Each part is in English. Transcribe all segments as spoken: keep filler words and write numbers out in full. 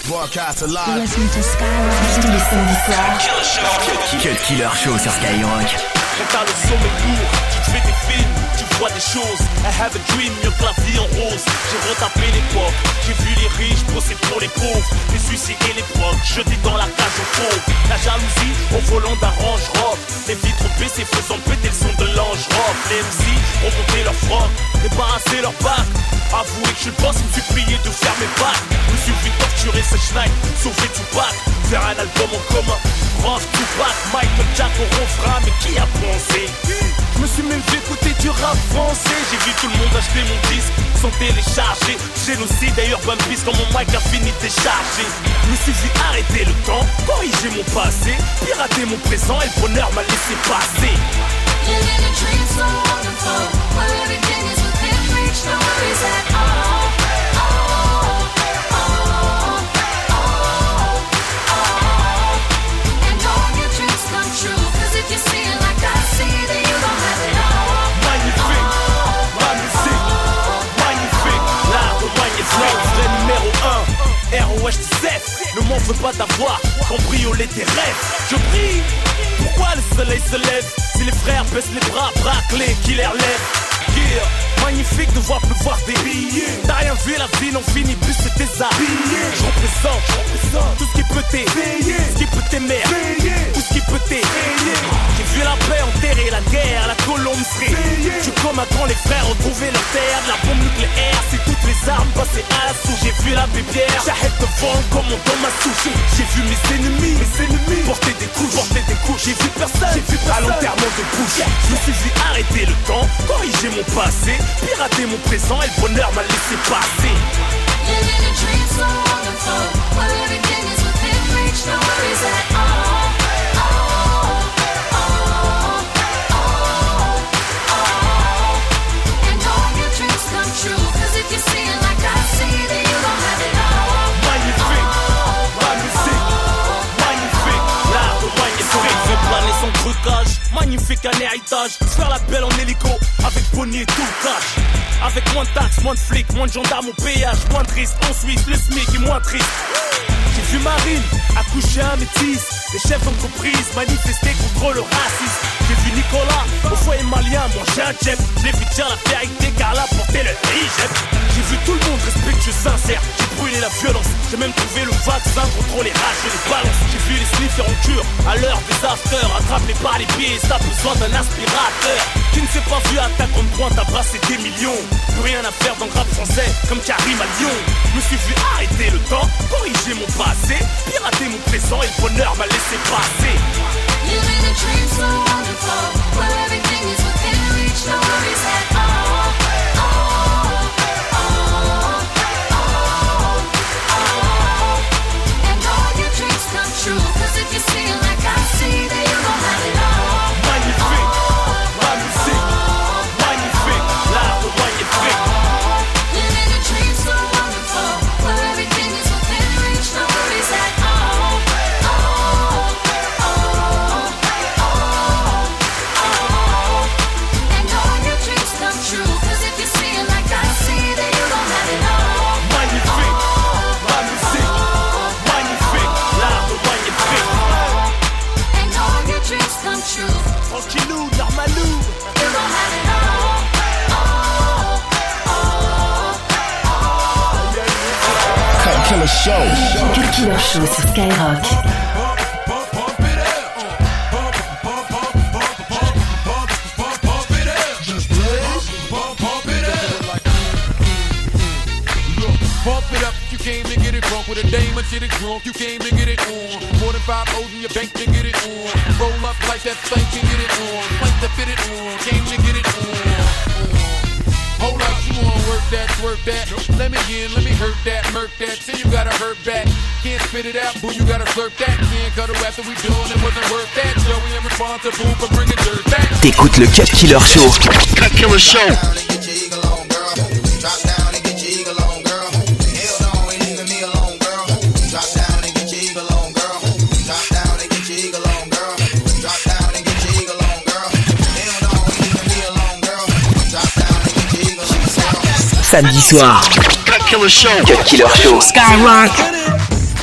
Broadcast alive. Listen to Skyrock tous les samedis soirs. Cut Killer Show sur Skyrock. Quand t'as le sommet lourd, tu te fais des films, tu vois des choses. I have a dream, mieux que la vie en rose. J'ai retapé l'époque, j'ai vu les riches bosser pour les pauvres. Les suicides et les procs, jetés dans la cage aux fauves. La jalousie au volant d'un Range Rover. Les vitres baissées faisant péter le son de l'ange rock. Les M C ont monté leur froc, débarrassé leur bac. Avouez que je suis le boss, il me suis prié de faire mes bacs. Je me suis vu torturer ce schneid, sauver Tupac, faire un album en commun. Rock, Tupac, Michael Jack au refrain, mais qui a pensé? Je me suis même fait écouter du rap français. J'ai vu tout le monde acheter mon disque sans télécharger. Génocide et Urban Beast quand mon mic a fini de décharger. Je me suis dit arrêter le temps, corriger mon passé, pirater mon présent et le bonheur m'a laissé passer. Living a dream so wonderful, where everything is within reach, no worries at all. Oh, oh, oh, oh. And all your dreams come true, cause if you see it like I see, then you don't have it all. Magnifique, ma musique, magnifique, l'art de magnifique. Vrai numéro un, R O H dix-sept. Ne m'en veux pas d'avoir cambriolé tes rêves. Je brille, pourquoi le soleil se lève? Si les frères baissent les bras, braquent les qui les relèvent. Yeah, magnifique de voir pleuvoir des billets. T'as rien vu, la vie n'en finit plus, c'est tes habillés. Je représente, je représente tout ce qui peut t'aider, ce qui peut t'émerger, tout ce qui peut t'aider. J'ai vu la paix enterrer la guerre, la colombe serait. Je comme un grand les frères retrouver leur terre. De la bombe nucléaire, c'est toutes les armes passées à l'assaut. J'ai vu la bébière, j'arrête de vendre comme on dans ma souche. J'ai vu mes ennemis, mes ennemis porter des couches, porter des couches. J'ai vu personne, j'ai vu personne à l'enterrement de bouche. Je me suis dit arrêter le temps, corriger mon passé, pirater mon présent et le bonheur m'a laissé passer. Living a dream so wonderful, where everything is within reach, no worries at all. Oh, oh, oh, oh. And all your dreams come true, cause if you see it like I see, then you don't have it all. Magnifique, ma musique, magnifique, l'art de magnifique. Fait planer son trucage, magnifique un héritage. Faire la belle en hélico, avec Bonnie et tout le cash. Avec moins de taxes, moins de flics, moins de gendarmes au péage, moins de risques en Suisse, le SMIC est moins triste. J'ai vu Marine accoucher un métis, les chefs d'entreprise manifester contre le racisme. J'ai vu Nicolas au foyer malien manger un jet. Je l'ai vu dire la vérité car elle a porté le hijab. J'ai vu tout le monde respectueux, sincère. J'ai brûlé la violence, j'ai même trouvé le vaccin contre les rages et les balances. J'ai vu les sniffers en cure à l'heure des afters, attrapés par les pieds, ça a besoin d'un aspirateur. Qui ne s'est pas vu à ta grande pointe à brasser des millions. Plus rien à faire dans le rap français comme Karim à Lyon. Je me suis vu arrêter le temps, corriger mon passé, pirater mon présent et le bonheur m'a laissé passer. Living a dream so wonderful, where everything is within reach, no worries at all. Oh, oh, oh, oh. And all your dreams come true, cause if you see it like I see, then you don't have it all. Magnifique, ma musique, magnifique, l'art de magnifique. Living a dream so wonderful, where everything is within reach, no worries at all. Oh, oh, oh, oh. And all your dreams come true, cause if you see it like I see, then you don't have it all. Magnifique, ma musique, magnifique, l'art de magnifique. And all your dreams come true, Tranquillou, normalou. you don't have it all. Oh, oh, oh. Cut Killer Show. Cut Killer Show sur Skyrock. Pump it up, you came to get it drunk with a dame and shit it drunk, you came to get it on. More than five O's in your bank to get it on. Roll up like that thing can get it on. Like to fit it on, came to get it on. Hold up, you wanna work that, work that. Let me in, let me hurt that, murk that. Say you gotta hurt back. Can't spit it out, boo, you gotta slurp that. Can't cut it after we doing it, wasn't worth that. So we am responsible for bringing dirt back. T'écoutes le Cut Killer Show. Cut Killer Show. Samedi soir. Cut Killer Show. Cut Killer Show. Skyrock.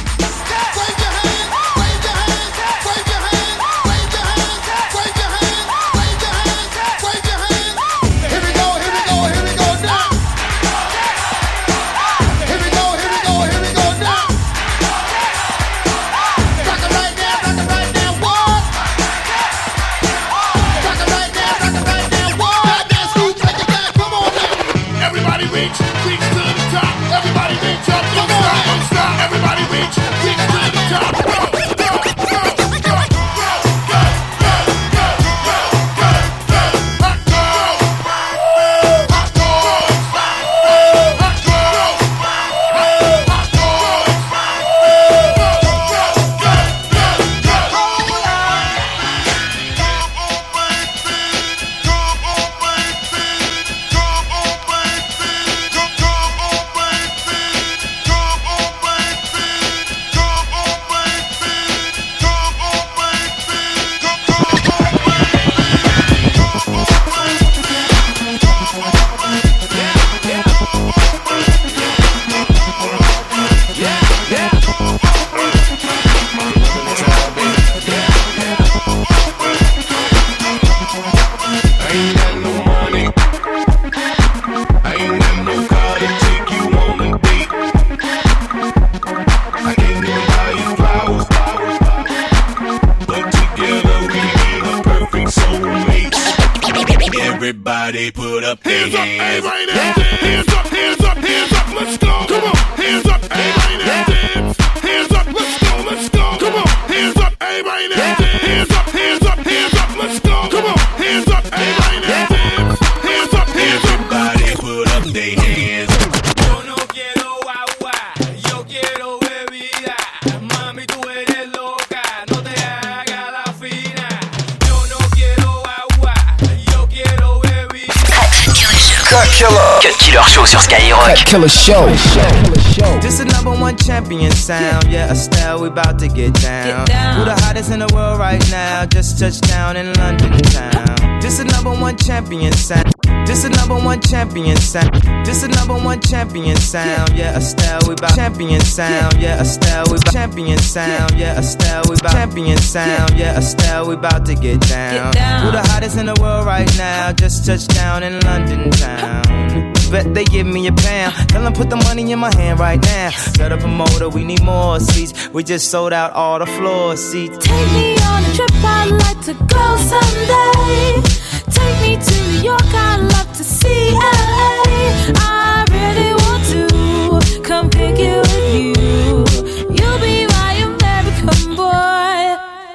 Everybody put up their Hands up, hands. everybody now. Hands up, hands up, hands up, let's go. Come on, hands up, everybody now. Dance. Hands up, let's go, let's go. Come on, hands up, everybody now. Hands up, hands up, hands up, let's go. Come on, hands up, everybody now. Dance. Hands up, hands up. Everybody put up their hands. Yo no quiero agua, yo quiero bebida. Mami, tú eres loca, no te hagas la fina. Yo no quiero agua, yo quiero bebida. Cut Killer. Cut Killer Show sur Skyrock. Cut Killer Show. This is number one champion sound. Yeah, Estelle, we about to get down. Get down. Who the hottest in the world right now? Just touched down in London town. This is number one champion sound. This is number one champion sound. This is number one champion sound. Yeah, Estelle, we about champion sound. Yeah, Estelle, we about champion sound. Yeah, Estelle, we about champion sound. Yeah, Estelle, we about to get down. Get down. Who the hottest in the world right now? Just touched down in London town. Bet they give me a pound. Tell them put the money in my hand right now. Set up a motor, we need more seats. We just sold out all the floor seats. Take me on a trip, I'd like to go someday. Take me to New York, I'd love to see L A. I really want to come pick it with you. You'll be my American boy.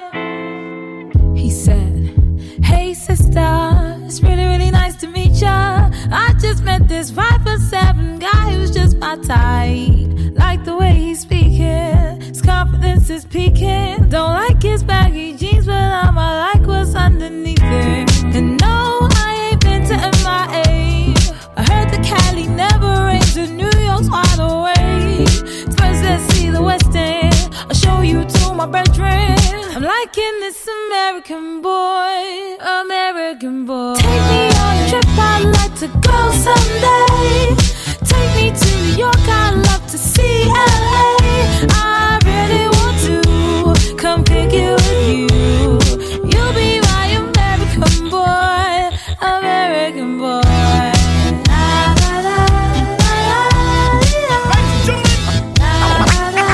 He said, hey sister, it's really, really nice to meet ya. I just met this five foot seven guy who's just my type. Like the way he's speaking, his confidence is peaking. Don't like his baggy jeans, but I'ma like what's underneath it. And no, I ain't been to M I A. I heard the Cali never rains and New York's wide awake. First let's see the West End, I'll show you to my bedroom. I'm liking this American boy, American boy. Take me on a trip, I'd like to go someday. Take me to New York, I'd love to see L A. I really want to come pick it with you. You'll be my American boy, American boy. La, la, la, la, la, la, la, la,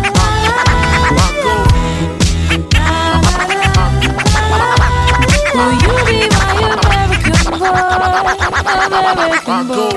Will you be my American boy, American boy?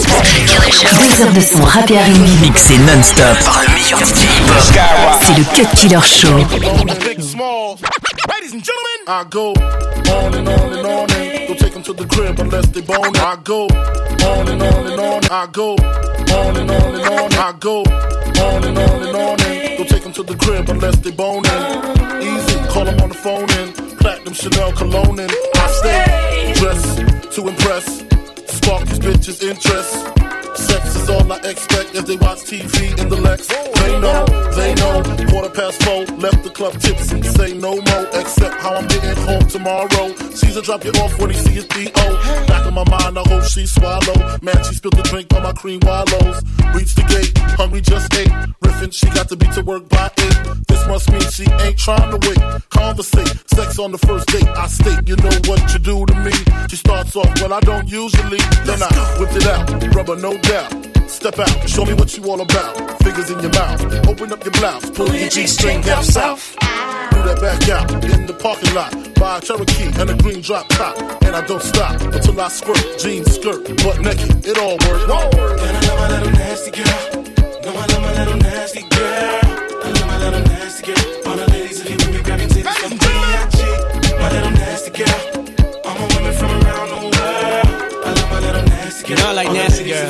Deux heures de son rap et R and B Mixé non-stop par le meilleur D J hip-hop. C'est le Cut Killer Show. Big small. Ladies and gentlemen, I go on and on and on and don't take them to the crib unless they bone. I go on and on and on. I go on and on and on. I go on and on and on and don't take them to the crib unless they bone. Easy, call them on the phone and platinum Chanel cologne and I stay dressed to impress. Spark these bitches' interest. Sex is all I expect as they watch T V in the Lex. They know, they know. Quarter past four, left the club tipsy. Say no more, except how I'm getting home tomorrow. Caesar drop you off when he see his D O. Back in my mind, I hope she swallow. Man, she spilled the drink on my cream wallows. Reach the gate, hungry just ate. Riffin', she got to be to work by eight. This must mean she ain't trying to wait. Conversate, sex on the first date. I state, you know what you do to me. She starts off, well, I don't usually. Then I whipped it out, rubber no doubt. Step out, show me what you all about. Fingers in your mouth, open up your blouse, pull your G-string down south. Do that back out in the parking lot. Buy a Cherokee and a green drop top. And I don't stop until I squirt. Jeans, skirt, butt naked, it all works. Whoa. And I love my little nasty girl. No, I love my little nasty girl. I love my little nasty girl. All the ladies, if you with me, grab your titties from D I G. My little nasty girl. All my women from around the world. I love my little nasty girl. You know I like nasty girl.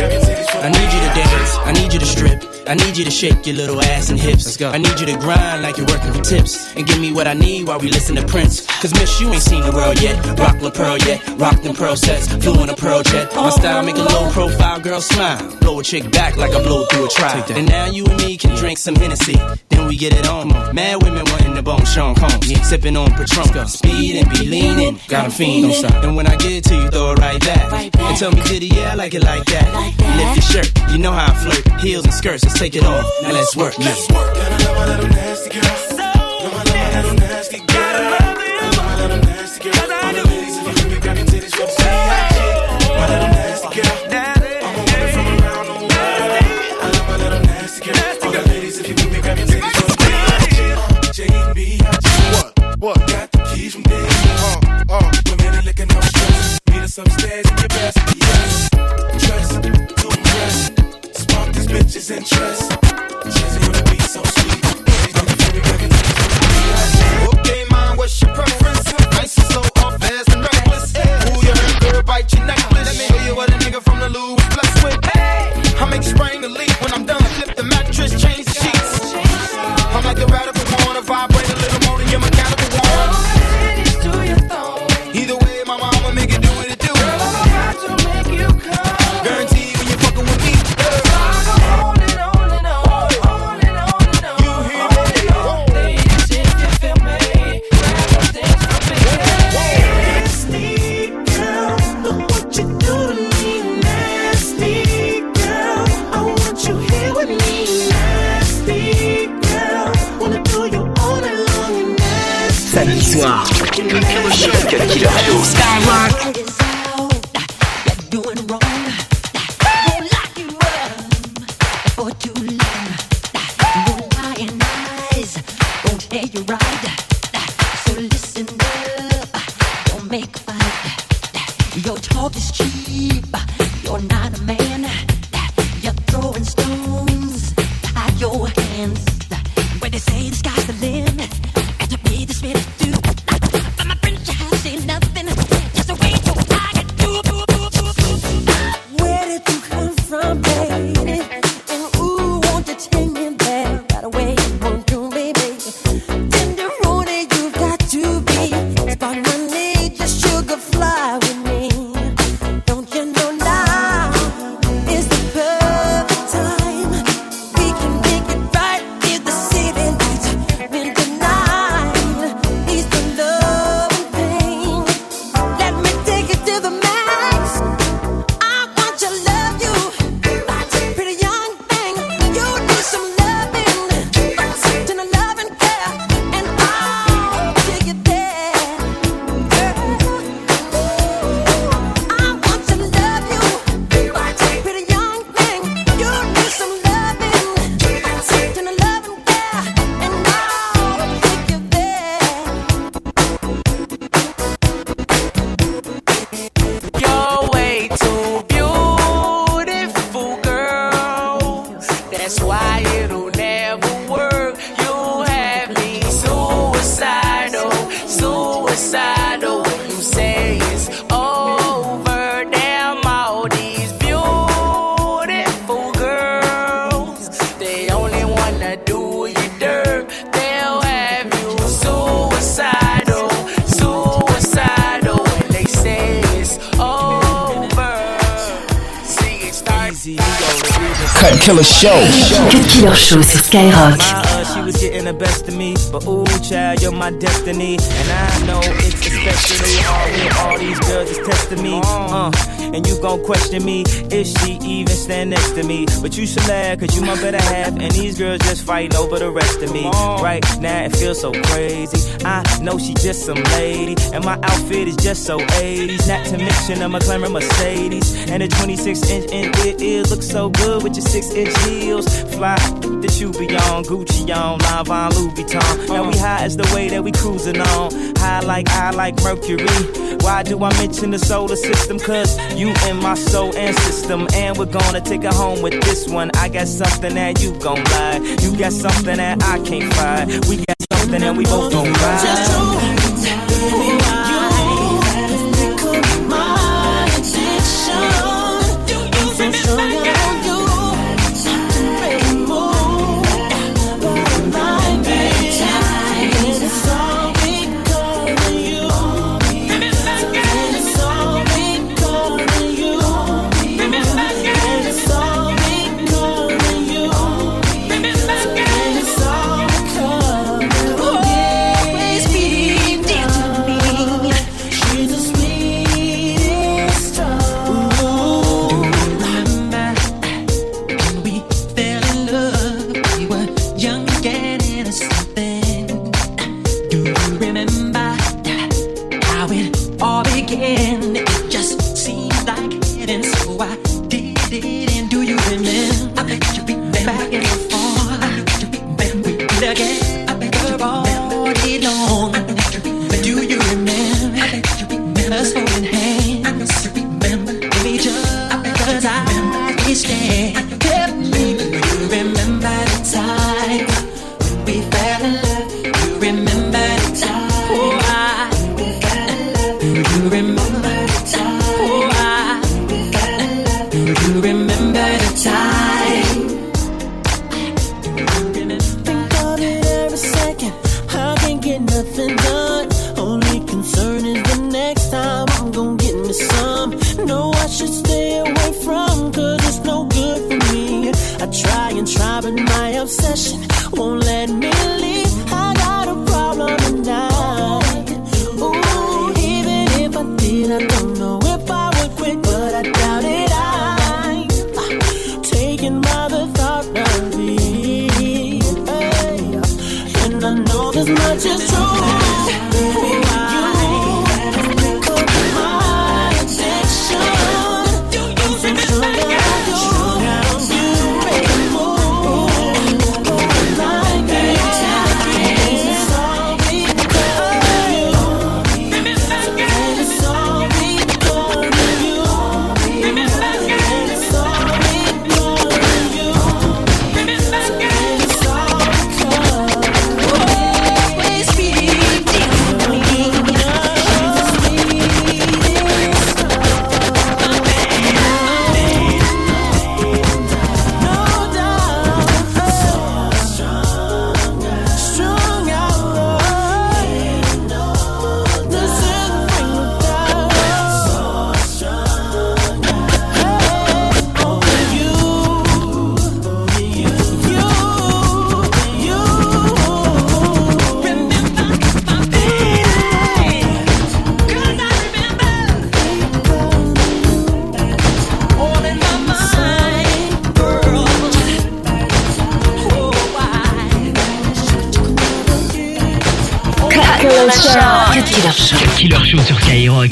I need you to dance, I need you to strip, I need you to shake your little ass and hips. Let's go. I need you to grind like you're working for tips and give me what I need while we listen to Prince. Cause miss, you ain't seen the world yet. Rock La Pearl yet, rock them pearl sets, flew in a pearl jet. My style make a low profile girl smile, blow a chick back like I blow through a trial. And now you and me can drink some Hennessy, then we get it on. Mad women wanting the bone Sean Combs, yeah. Sipping on Patron, speed and be leaning, got 'em fiending. And when I get it to you, throw it right back, right back. And tell me, did it? Yeah, I like it like that. Like that. Lift your shirt, you know how I flirt. Heels and skirts, let's take it off. Now let's work. Let's work. Gotta love my little nasty girl. Love my little nasty girl. Love my little nasty girl. All the ladies, if you with me, grab your titties from C I G. My little nasty girl. I'm a woman from around the world. I love my little nasty girl. All the ladies, if you with me, grab your titties from C I G. J and B I G. What? What? Got the keys from D. Uh, uh. Women are licking no stress. Need a some upstairs in your best. Yes, dress to impress. Spark these bitches' interest. Jazzy on the beat, so sweet. Okay, mom, what's your preference? Nice and slow, or fast and reckless? Ooh, you heard, girl, bite your necklace. Let me show you what a nigga from the Lou was blessed with. I make you sprain the leak when I'm done. Flip the mattress, change the sheets. I'm like the radical one, to vibrate a little more than your mechanical one. Either way, my mama make it do what it do. Girl, I'm about to make you come. Guaranteed when you're fucking with me. On and on and on, on and on and on. You hear me? Ladies, if you feel me, grab those things from me. Nasty girl, look what you do to me. Nasty girl, I want you here with me. Nasty girl, wanna do you all night long. And nasty. Samedi soir, Cut Killer Show. Skyrock. Your talk is cheap. You're not a man. You're throwing stones at your hands. When they say the sky's the limit, and to me this minute do. But my friends, you have seen nothing. Just a way to I can do. Where did you come from, baby? And ooh, won't you take me there right away? Won't you, baby? Tenderoni, you've got to be. Spot money, just sugar fly with me. Don't you know now is the perfect time? We can make it right in the city lights. When the night is the love and pain. Let me take it to the max. I want to love you, pretty young thing. You need some loving, to the love and care, and I'll take it there. I want to love you, pretty young thing. You need some loving, to the love and care, and I'll take you there. You're way too beautiful, girl. That's why it'll never work. You have me suicidal, suicidal. When you say it's over, damn all these beautiful girls, they only wanna do you dirt. They'll have you suicidal, suicidal. When they say it's over, see it start. Cut Killer Show. Cut Killer Show sur Skyrock. My, uh, she was getting the best of me, but ooh, child, you're my destiny, and I know it's especially hard when all these girls is testing me. Uh, and you gon' question me if she even stand next to me, but you should laugh, cause you my better half, and these girls just fighting over the rest of me. Right now it feels so crazy. I know she just some lady, and my outfit is just so eighties. Not to mention I'm a glamour Mercedes, and a twenty-six inch in it, it looks so good with your six inch heels. Fly that you be on, Gucci on, Lanvin, Louis Vuitton. Now we high as the way that we cruising on. High like I like Mercury. Why do I mention the solar system? Cause you in my soul and system, and we're gonna take it home with this one. I got something that you gon' like. You got something that I can't find. We got something that we both gon' ride. Always be should stay away from, cause it's no good for me. I try and try, but my obsession won't let me leave. I got a problem tonight. Ooh, even if I did, I don't know if I would quit, but I doubt it. I'm uh, taken by the thought of it. Hey, and I know this much is true. Cut Killer Show. Cut Killer Show sur Skyrock.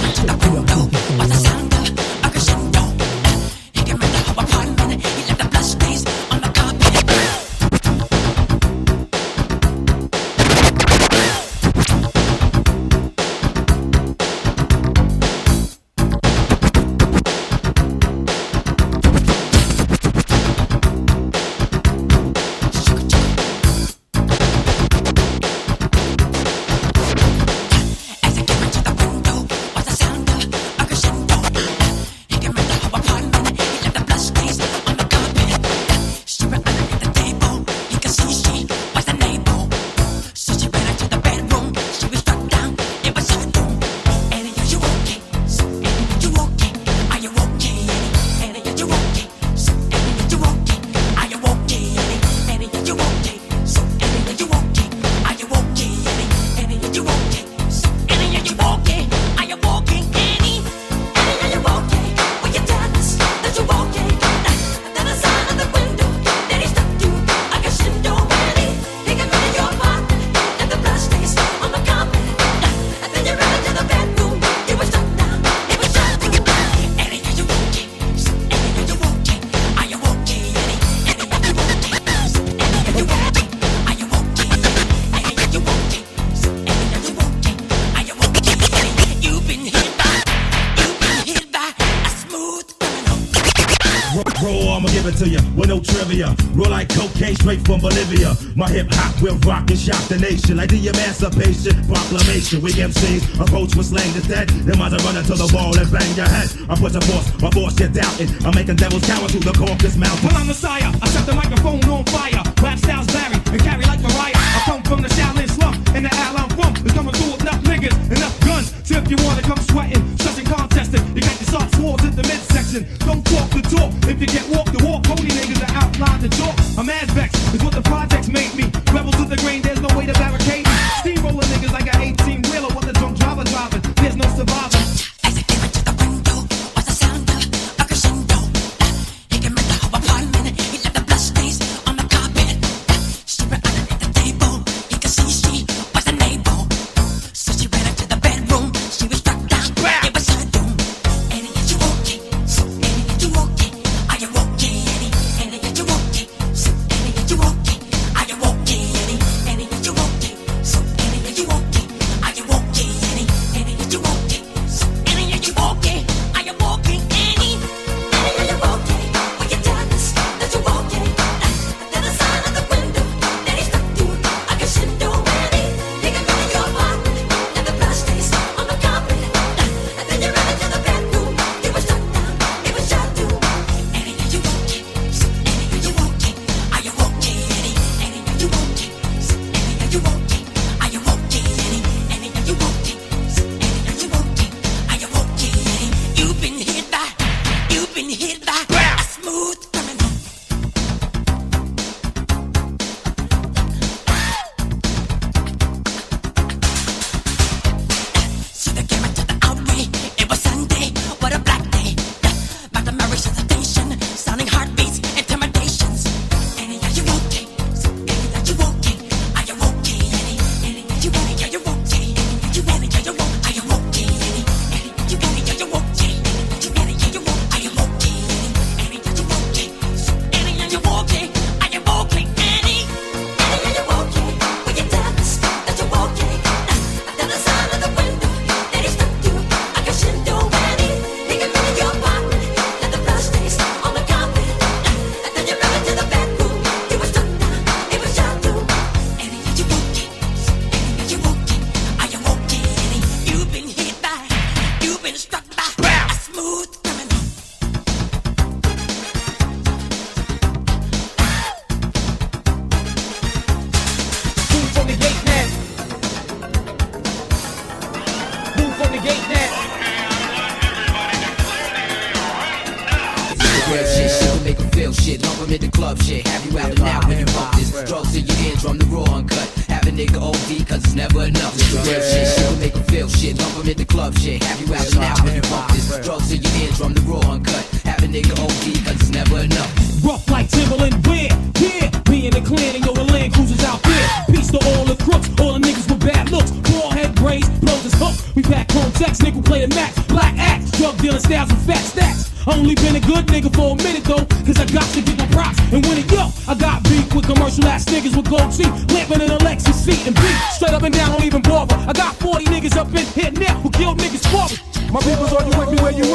Roll like cocaine straight from Bolivia. My hip hop will rock and shock the nation like the Emancipation Proclamation. We M Cs approach with slang that's dead. Then might run into the wall and bang your head. I put the force, my force you're doubting. I'm making devils cower through the Caucasus Mountain. Well, I'm Messiah. I set the microphone on fire. Rap styles vary and carry like Mariah. I come from the Shaolin slum and the Al I'm from is coming through with enough niggas, enough guns. So if you wanna come sweating, stressing, contesting, you got your soft swords in the midsection. Don't talk the talk. If you get walk the walk, pony niggas are outline the talk. I'm Azvex, is what the projects made me. Rebels to the grain, there's no way to barricade me. Steamroller niggas like an eighteen wheeler, what the drunk driver driving. There's no survivor. As I came into the window, was the sound of a crescendo. He came into her apartment, he left the blood stains on the carpet. She ran underneath the table, he could see she was a neighbor. So she ran into the bedroom, she was struck down. them at the club shit. Have you out and out when you bump this. Drugs in your eardrum, the raw uncut. Have a nigga O D cause it's never enough. Real shit, shit will make them feel shit. Dump them at the club shit. Have you out and out when you bump this. Drugs in your eardrum, the raw uncut. Have a nigga O D cause it's never enough. Rough like Timberland, where? Yeah, me and the clan and yo, the Land Cruisers out there. Peace to all the crooks, all the niggas with bad looks. Bald head braids, blows his hook. We pack home text, nigga play the max. Black axe, drug dealing styles and fat stacks. I only been a good nigga for a minute though, cause I got to get my props and win it. Yo, I got beef with commercial ass niggas with gold teeth, lamping in a Lexus seat and beat straight up and down, don't even bother. I got forty niggas up in here now who killed niggas for me. My people's, are you with me where you